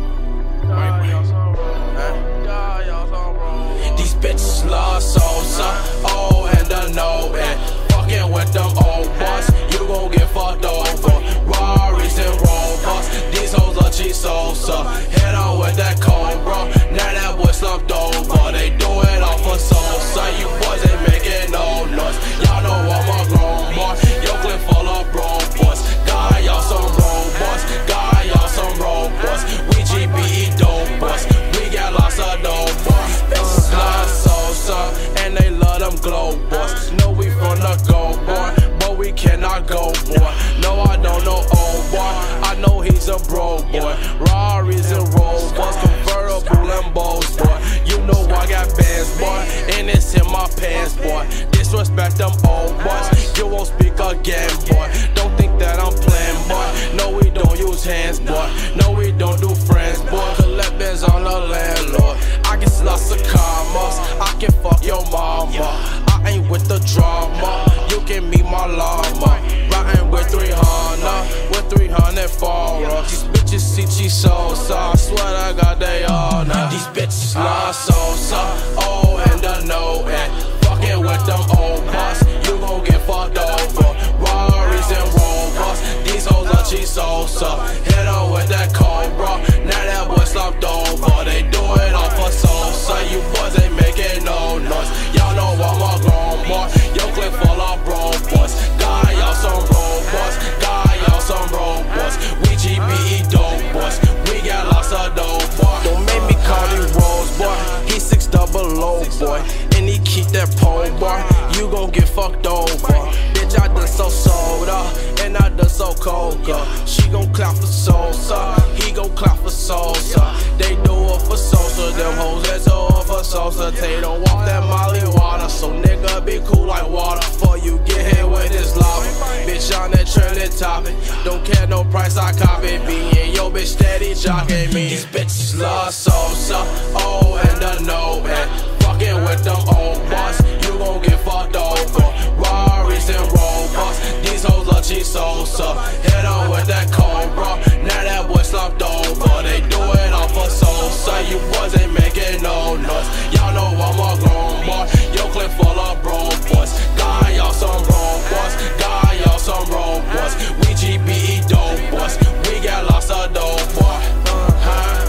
Bye, y'all some roll. Hey, y'all some roll. These bitches love souls up. Oh, and the no, and fucking with them old boys, you gon' get fucked over. Rarries and Rovers, these hoes are cheap souls up. Head on with that cold, bro. Now that boy slumped over. They do it off for soul, son. You boys ain't making no noise. Y'all know I'm a grown boy. Your clip full of bro boys. God, y'all some robots. God, y'all some robots. We G B E dope boys. We got lots of dope boys. Bitches love souls up, and they love them glow boys. Know we from the go boy, but we cannot go boy. No, I don't know old boy. I know he's a bro boy. Rarries and Rovers, convertible Lambos boy. You know I got bands boy, and it's in my pants boy. Disrespect them old boys, you won't speak again boy. Don't think that I'm playing boy. No, we don't use hands boy. No, we don't do friends boy. Collect bands on the landlord. I get lots of commas. I can fuck your mama. I ain't with the drama. You can meet my llama. Riding with three hundred, with three hundred foreigns. These bitches see cheese sauce. I swear I got they all now. These bitches love salsa. Oh, and the no, and fucking with them old boss. You gon' get fucked over. Rarries and Rovers. These hoes are cheese salsa. Hit on with that cold, bro. Now that boy slumped over. They do it off for salsa. You boys ain't making no noise. Y'all know I'm a grown boy. Your clip full of bro boys. God, y'all some robots. God, y'all some robots. We G B E dope boys. We got lots of dope boy. Don't make me call him Rose boy. He six double low boy, and he keep that pole boy. You gon' get fucked over. Bitch, I done so soda, and I done so coca. She gon' clap for Sosa, he gon' clap for Sosa. They do it for Sosa, them hoes that do it for Sosa. They don't want that Molly water, so nigga be cool like water. Before you get hit with this lava, bitch on that trending topic. Don't care no price, I copy me, and yo bitch steady jocking me. These bitches love Sosa, oh and the no, and fucking with them old boys, you gon' get fucked over. Rarries and Rovers, these hoes love cheese Sosa. Hit on with that cold, bro. Now that boy slumped over. They do it off for Sosa. You boys ain't making no noise. Y'all know I'm a grown boy. Your clip full of bro boys. God, y'all some bro boys. God, y'all some bro boys. We G B E dope boys. We got lots of dope boy. Uh-huh.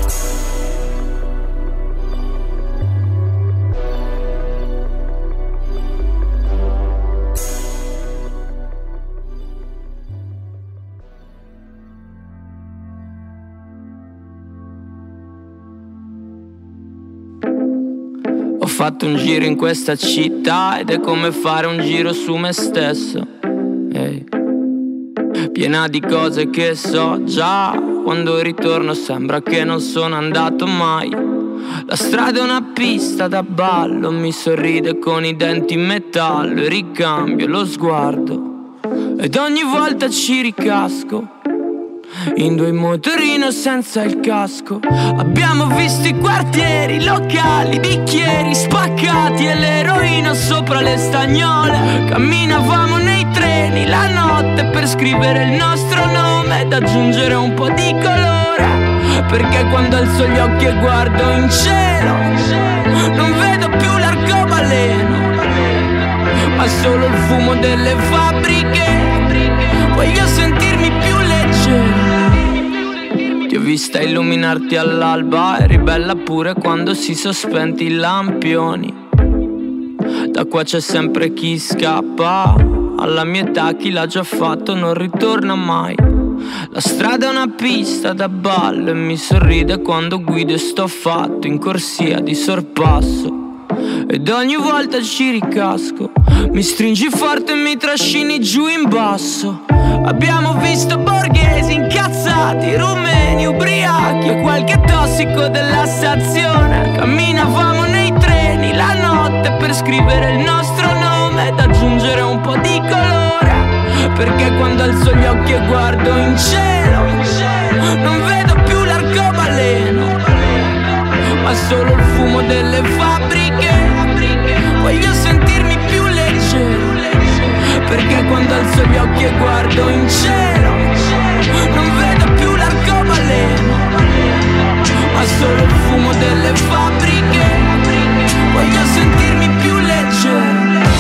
Ho fatto un giro in questa città ed è come fare un giro su me stesso, hey. Piena di cose che so già, quando ritorno sembra che non sono andato mai. La strada è una pista da ballo, mi sorride con i denti in metallo e ricambio lo sguardo ed ogni volta ci ricasco. in due motorino senza il casco. Abbiamo visto i quartieri, locali, bicchieri spaccati e l'eroina sopra le stagnole. Camminavamo nei treni la notte per scrivere il nostro nome ed aggiungere un po' di colore, perché quando alzo gli occhi e guardo in cielo non vedo più l'arcobaleno, ma solo il fumo delle fabbriche. Voglio sentirmi più leggero. Ti ho vista illuminarti all'alba, eri bella pure quando si sospenti i lampioni. Da qua c'è sempre chi scappa, alla mia età chi l'ha già fatto non ritorna mai. La strada è una pista da ballo e mi sorride quando guido e sto fatto in corsia di sorpasso. Ed ogni volta ci ricasco, mi stringi forte e mi trascini giù in basso. Abbiamo visto borghesi incazzati, rumeni, ubriachi e qualche tossico della stazione. Camminavamo nei treni la notte per scrivere il nostro nome ed aggiungere un po' di colore, perché quando alzo gli occhi e guardo in cielo non vedo più l'arcobaleno, ma solo il fumo delle fabbriche. Voglio sentirmi più leggero, perché quando alzo gli occhi e guardo in cielo non vedo più l'arcobaleno, ma solo il fumo delle fabbriche. Voglio sentirmi più leggero.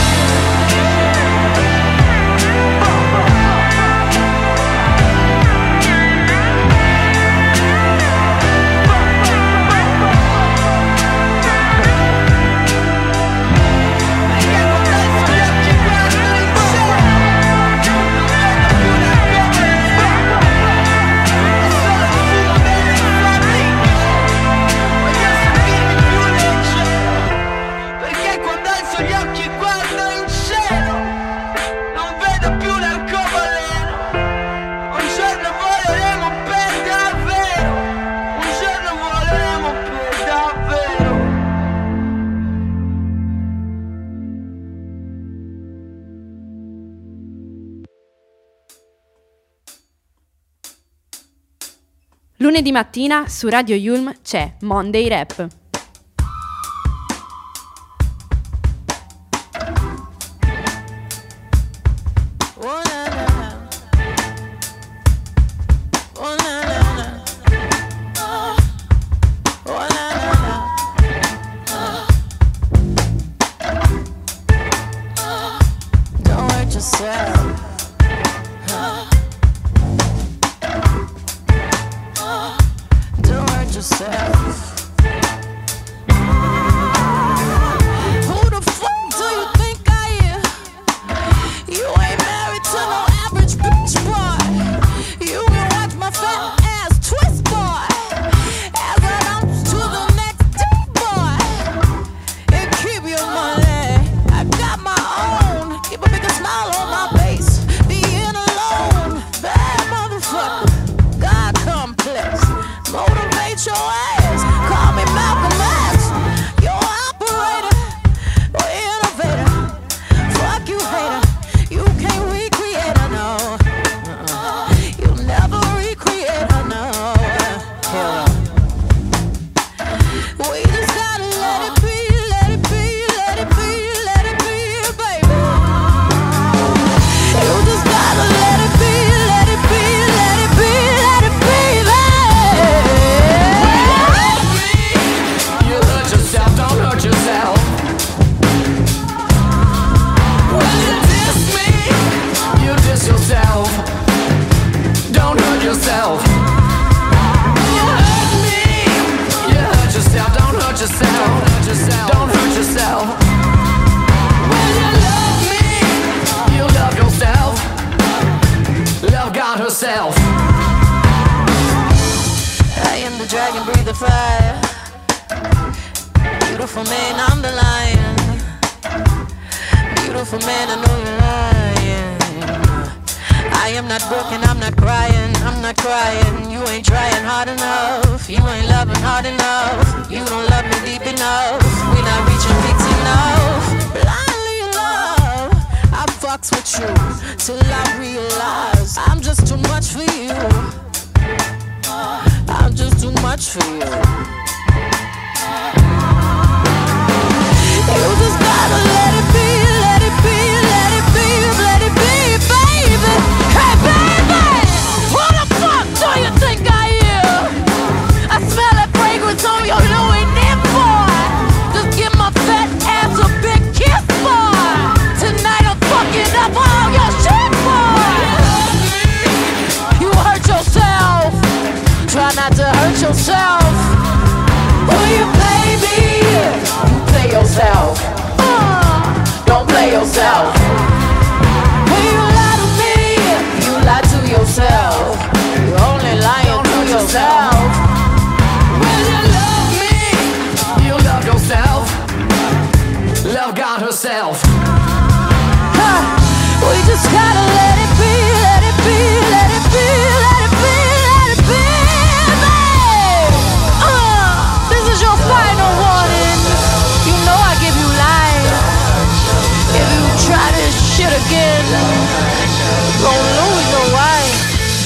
Lunedì mattina su Radio Yulm c'è Monday Rap. Fucks with you till I realize I'm just too much for you. I'm just too much for you. You just gotta let it be, let it be, let it be, let it be, baby. Hey, baby, who the fuck do you think I am? I smell that fragrance on your Louis Vuitton, boy. Just give my fat ass a big kiss, boy. Tonight I'm fucking up all your shit, boy. You hurt yourself. Try not to hurt yourself. Will you play me? You play yourself. Uh, don't play yourself. Will you lie to me? You lie to yourself. You're only lying to yourself. Will you love me? You love yourself. Love God herself. Huh. We just gotta let it be, let it be, let it be, let it be, let it be, babe. Uh, this is your final warning. You know I give you life. If you try this shit again, you gon' lose your wife.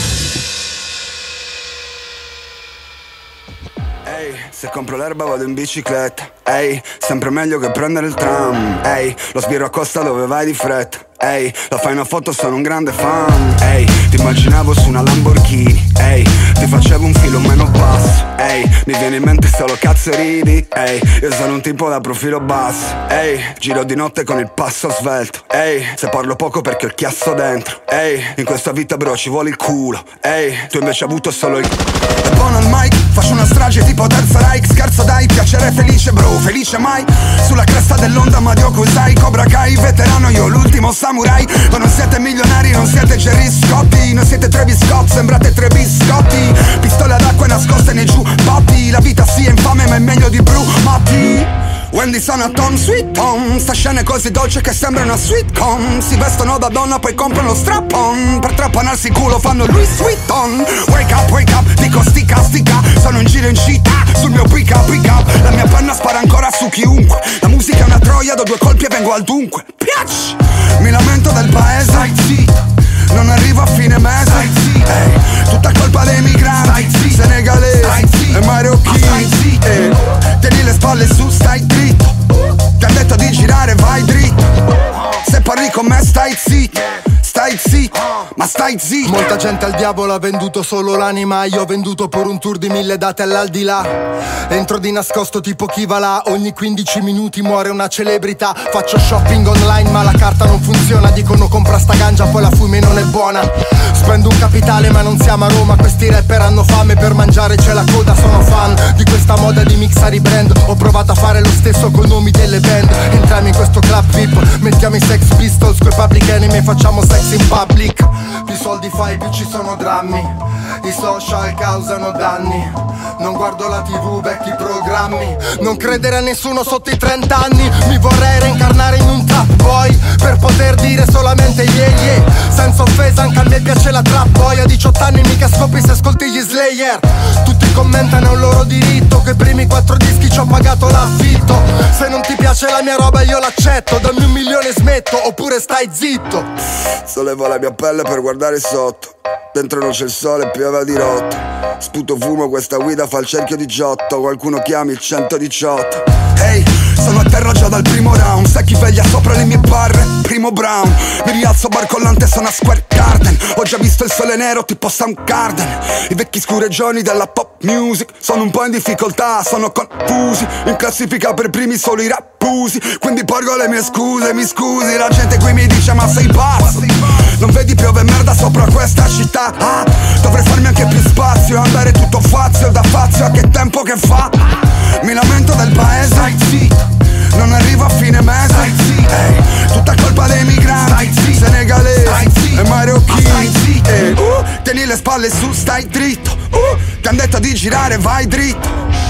Ehi, se compro l'erba vado in bicicletta. Ehi, sempre meglio che prendere il tram. Ehi, lo sbirro a Costa dove vai di fretta. Ehi, la fai una foto, sono un grande fan. Ehi, ti immaginavo su una Lamborghini. Ehi, ti facevo un filo meno basso. Ehi, mi viene in mente solo cazzo e ridi. Ehi, io sono un tipo da profilo basso. Ehi, giro di notte con il passo svelto. Ehi, se parlo poco perché ho il chiasso dentro. Ehi, in questa vita bro ci vuole il culo. Ehi, tu invece hai avuto solo il... E buono al mic, faccio una strage tipo Terza Reich. Scherzo dai, piacere felice bro, felice mai. Sulla cresta dell'onda Mario Kusai, Cobra Kai, veterano io l'ultimo samurai. Ma non siete milionari, non siete Gerry Scotti, non siete Travis Scott, sembrate tre biscotti. Pistole ad acqua nascoste nei giubbotti. La vita sì è infame ma è meglio di Bru Matti. Wendy sono a Tom Sweet Tom. Sta scena è così dolce che sembra una sitcom. Si vestono da donna poi comprano strap-on. Per trappanarsi il culo fanno Louis Vuitton. Wake up, wake up, dico stica, stica. Sono in giro in città, sul mio pick up, pick up. La mia penna spara ancora su chiunque. La musica è una troia, do due colpi e vengo al dunque. Piac! Mi lamento del paese, stai zitto. Non arrivo a fine mese, stai zitto. Ehi, tutta colpa dei migranti, stai zitto. Senegalesi, stai zitto. E marocchini, stai zitto. Ehi, tieni le spalle su, stai dritto. Ti han detto di girare, vai dritto. Se parli con me stai zitto. Stai zitto, ma stai zitto. Molta gente al diavolo ha venduto solo l'anima. Io ho venduto per un tour di mille date all'aldilà. Entro di nascosto tipo chi va là. Ogni quindici minuti muore una celebrità. Faccio shopping online ma la carta non funziona. Dicono compra sta ganja poi la fumi non è buona. Spendo un capitale ma non siamo a Roma. Questi rapper hanno fame, per mangiare c'è la coda. Sono fan di questa moda di mixare i brand. Ho provato a fare lo stesso con nomi delle band. Entriamo in questo club V I P, mettiamo i Sex Pistols coi Public Enemy e facciamo sex in public. Più soldi fai più ci sono drammi. I social causano danni. Non guardo la tv, vecchi programmi. Non credere a nessuno sotto i trenta anni. Mi vorrei reincarnare in un trap boy per poter dire solamente yeah yeah. Senza offesa anche a me piace la trap boy. A diciotto anni mica scopri se ascolti gli Slayer. Tutti commentano, è un loro diritto. Che i primi quattro dischi ci ho pagato l'affitto. Se non ti piace la mia roba io l'accetto. Dammi un milione e smetto, oppure stai zitto. Sollevo la mia pelle per guardare sotto. Dentro non c'è il sole, piove a dirotto. Sputo fumo, questa guida fa il cerchio di Giotto. Qualcuno chiami il centodiciotto. Ehi, hey, sono a terra già dal primo round. Sai chi veglia sopra le mie barre? Primo Brown. Mi rialzo barcollante, sono a Square Garden. Ho già visto il sole nero tipo Soundgarden. I vecchi scureggioni della pop music sono un po' in difficoltà, sono confusi. In classifica per primi solo i rappusi. Quindi porgo le mie scuse, mi scusi. La gente qui mi dice ma sei pazzo. Non vedi piove merda sopra questa città? Ah, dovrei farmi anche più spazio. Andare tutto fazio da fazio, a che tempo che fa? Mi lamento del paese, stai zitto. Non arrivo a fine mese, stai zitto. Ehi, tutta colpa dei migranti, stai zitto. Senegalesi, stai zitto. E marocchini, stai zitto. Ehi, uh, tieni le spalle su, stai dritto. uh, Ti han detto di girare, vai dritto.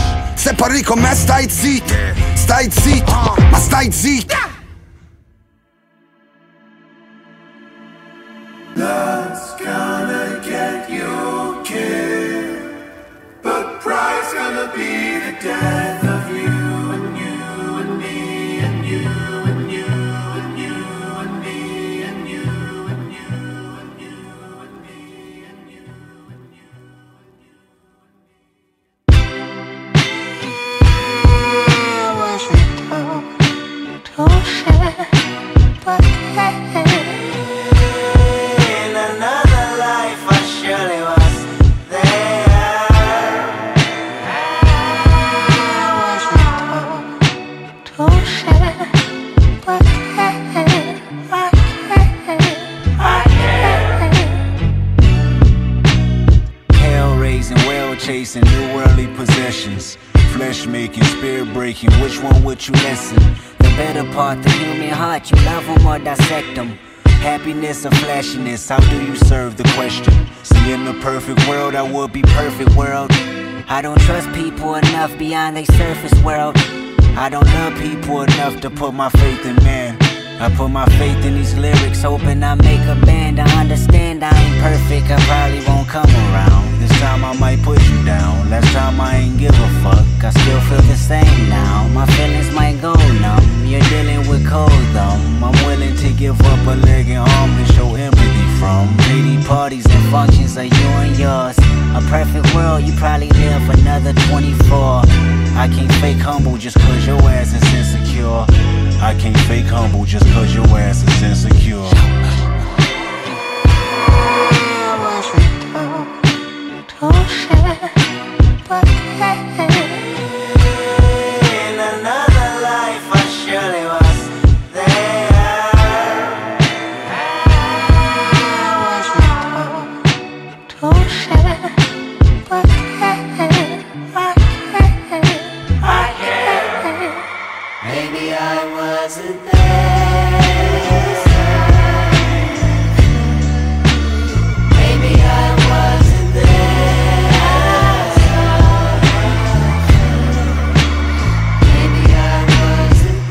Se parli con me stai zitto. Stai zitto, ma stai zitto. Love's gonna get you killed, but pride's gonna be the death of you and you and me and you and you and you and me and you and you and you and me and you and you and you. Hell-raising, well-chasing, new worldly possessions. Flesh-making, spirit-breaking, which one would you listen? The better part, the human heart, you love them or dissect them. Happiness or flashiness, how do you serve the question? See, in the perfect world, I would be perfect world. I don't trust people enough beyond their surface world. I don't love people enough to put my faith in man. I put my faith in these lyrics, hoping I make a band. I understand I ain't perfect, I probably won't come around. This time I might put you down, last time I ain't give a fuck. I still feel the same now, my feelings might go numb. You're dealing with cold thumb, I'm willing to give up a leg and arm to show empathy from. Lady parties and functions are you and yours. A perfect world, you probably live another twenty-four. I can't fake humble just cause your ass is insecure. I can't fake humble just cause your ass is insecure. I was told to share, but in another life I surely was there. I was told to share, but I can't, I can't. Maybe I wasn't there. Maybe I wasn't there. Maybe I wasn't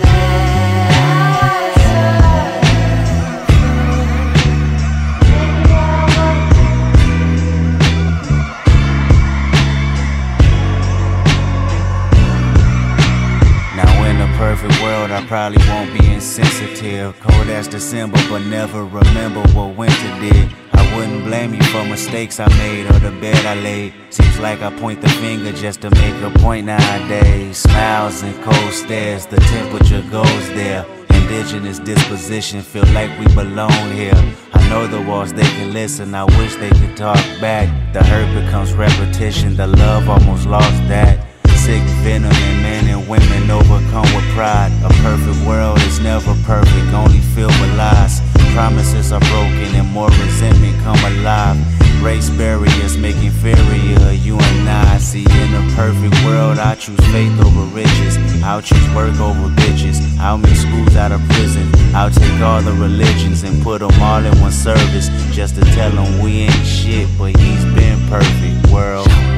Now in a perfect world I probably won't be insensitive. Cold as December but never remember what winter did. I wouldn't blame you for mistakes I made or the bed I laid. Seems like I point the finger just to make a point nowadays. Smiles and cold stares, the temperature goes there. Indigenous disposition, feel like we belong here. I know the walls, they can listen, I wish they could talk back. The hurt becomes repetition, the love almost lost that. Sick venom in men and women overcome with pride. A perfect world is never perfect, only filled with lies. Promises are broken and more resentment come alive. Race barriers make inferior you and I. See, in a perfect world I choose faith over riches. I'll choose work over bitches. I'll make schools out of prison. I'll take all the religions and put them all in one service, just to tell them we ain't shit, but he's been perfect. World